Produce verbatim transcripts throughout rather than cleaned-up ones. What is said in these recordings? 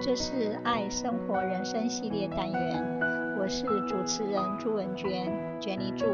這是愛生活人生系列單元，我是主持人朱文娟 Jenny 朱。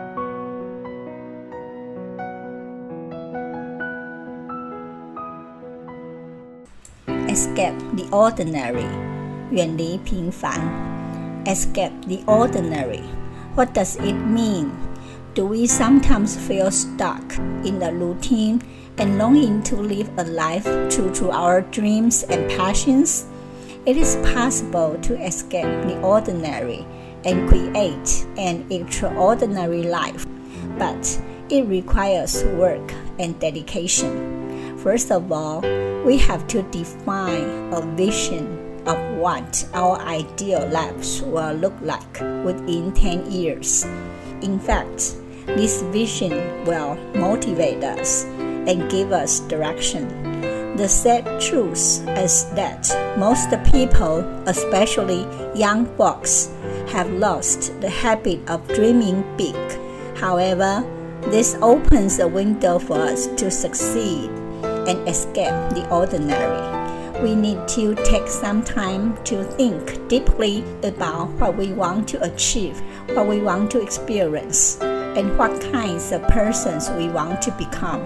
Escape the ordinary. 遠離平凡。Escape the ordinary. What does it mean? Do we sometimes feel stuck in the routine and longing to live a life true to our dreams and passions? It is possible to escape the ordinary and create an extraordinary life, but it requires work and dedication. First of all, we have to define a vision of what our ideal lives will look like within ten years. In fact, this vision will motivate us and give us direction. The sad truth is that most people, especially young folks, have lost the habit of dreaming big. However, this opens a window for us to succeed and escape the ordinary. We need to take some time to think deeply about what we want to achieve, what we want to experience, and what kinds of persons we want to become.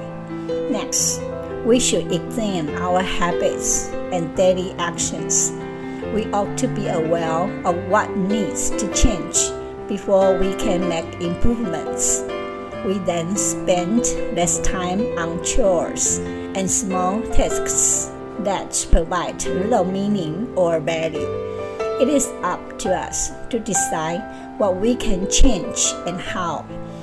Next, we should examine our habits and daily actions. We ought to be aware of what needs to change before we can make improvements. We then spend less time on chores and small tasks that provide little meaning or value. It is up to us to decide what we can change and how.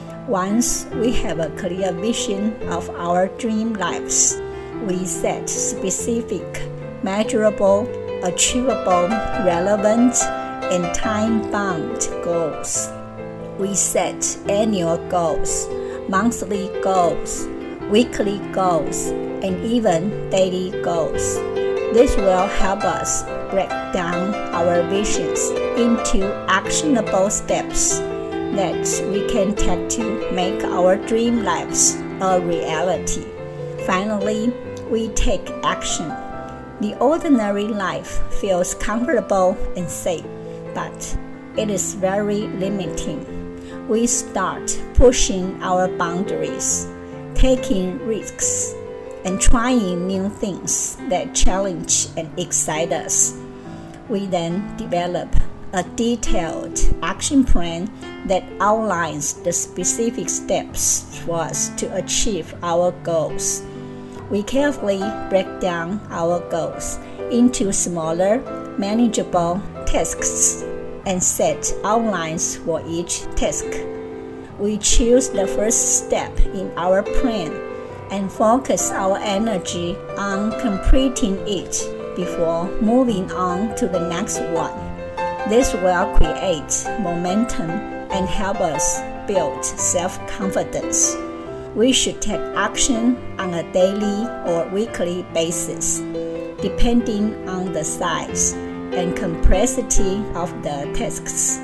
Once we have a clear vision of our dream lives, we set specific, measurable, achievable, relevant, and time-bound goals. We set annual goals, monthly goals, weekly goals, and even daily goals. This will help us break down our visions into actionable steps that we can take to make our dream lives a reality. Finally, we take action. The ordinary life feels comfortable and safe, but it is very limiting. We start pushing our boundaries, taking risks, and trying new things that challenge and excite us. We then develop a detailed action plan that outlines the specific steps for us to achieve our goals. We carefully break down our goals into smaller, manageable tasks and set outlines for each task. We choose the first step in our plan and focus our energy on completing it before moving on to the next one. This will create momentum and help us build self-confidence. We should take action on a daily or weekly basis, depending on the size and complexity of the tasks.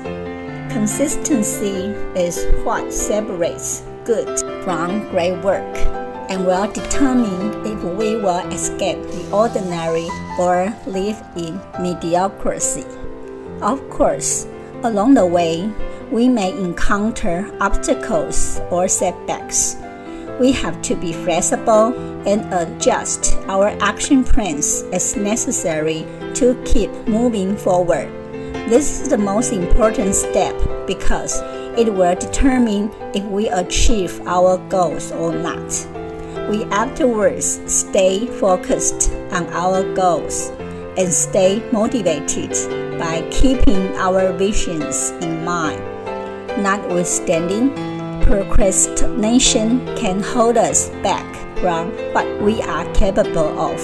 Consistency is what separates good from great work and will determine if we will escape the ordinary or live in mediocrity. Of course, along the way, we may encounter obstacles or setbacks. We have to be flexible and adjust our action plans as necessary to keep moving forward. This is the most important step because it will determine if we achieve our goals or not. We afterwards stay focused on our goals and stay motivated by keeping our visions in mind. Notwithstanding, procrastination can hold us back from what we are capable of.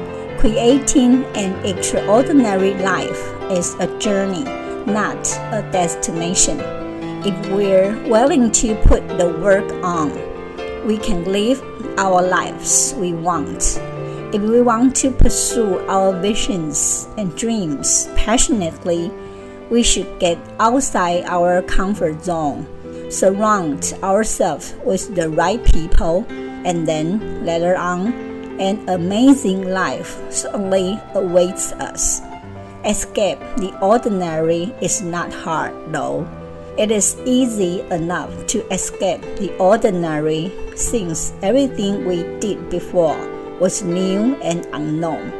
Creating an extraordinary life is a journey, not a destination. If we're willing to put the work on, we can live our lives we want. If we want to pursue our visions and dreams passionately, we should get outside our comfort zone, surround ourselves with the right people, and then later on, an amazing life certainly awaits us. Escape the ordinary is not hard, though. It is easy enough to escape the ordinary since everything we did before was new and unknown.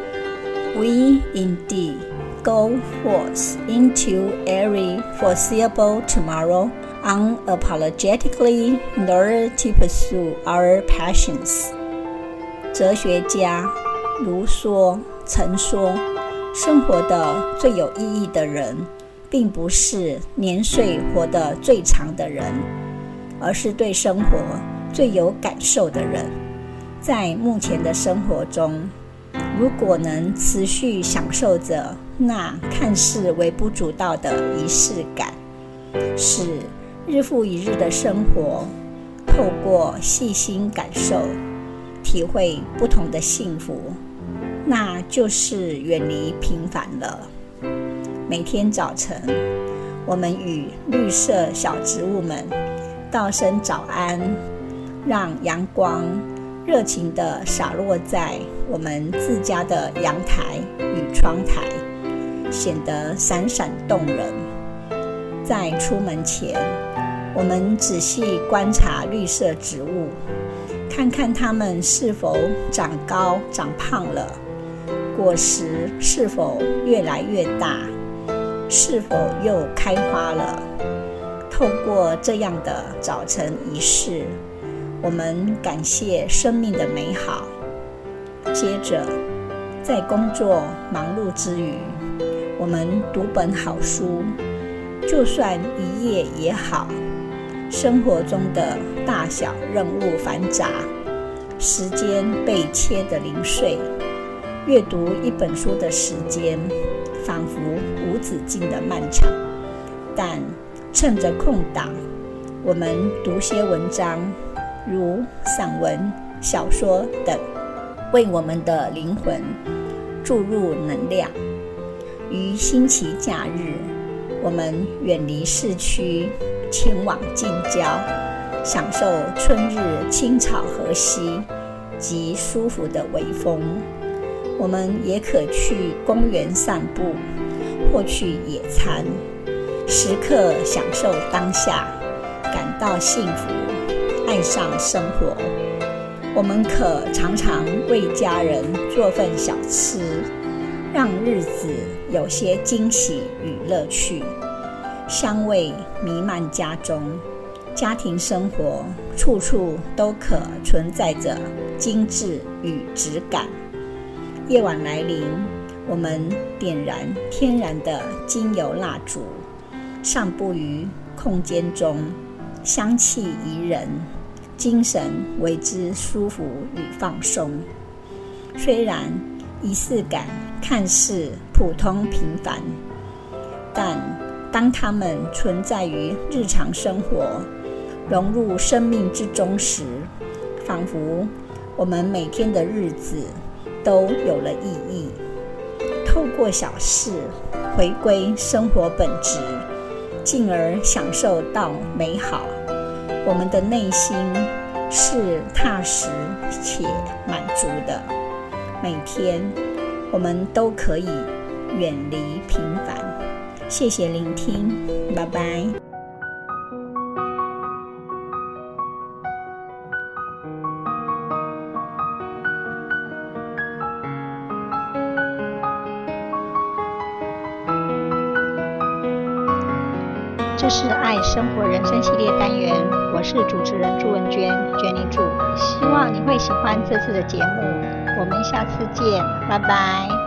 We indeed go forth into every foreseeable tomorrow unapologetically in order to pursue our passions. 哲學家盧梭曾說，生活的最有意義的人並不是年歲活得最長的人，而是對生活最有感受的人。在目前的生活中，如果能持續享受着那看似微不足道的儀式感，使日復一日的生活透過細心感受體會不同的幸福，那就是遠離平凡了。每天早晨，我們與綠色小植物們道聲早安，讓陽光熱情地灑落在我們自家的陽台與窗台，顯得閃閃動人。在出門前，我們仔細觀察綠色植物，看看它們是否長高長胖了，果實是否越來越大，是否又開花了。透過這樣的早晨儀式，我們感謝生命的美好。接着，在工作忙碌之餘，我們讀本好書，就算一頁也好。生活中的大小任務繁雜，時間被切得零碎，閱讀一本書的時間仿佛無止境的漫長。但趁着空檔，我們讀些文章，如散文、小說等，為我們的靈魂注入能量。於星期假日，我們遠離市區，前往近郊，享受春日青草河溪及舒服的微風。我們也可去公園散步，或去野餐，時刻享受當下，感到幸福，愛上生活。我們可常常為家人做份小吃，讓日子有些驚喜與樂趣。香味彌漫家中，家庭生活處處都可存在着精緻與質感。夜晚來臨，我們點燃天然的精油蠟燭，散步於空間中，香氣宜人，精神為之舒服與放鬆。雖然儀式感看似普通平凡，但當它們存在於日常生活，融入生命之中時，仿佛我們每天的日子都有了意義。透過小事回歸生活本質，進而享受到美好，我們的內心是踏實且滿足的。每天我們都可以遠離平凡。謝謝聆聽，拜拜。 這是愛生活人生系列單元，我是主持人朱文娟 Jenny 朱，希望你會喜歡這次的節目，我們下次見，拜拜。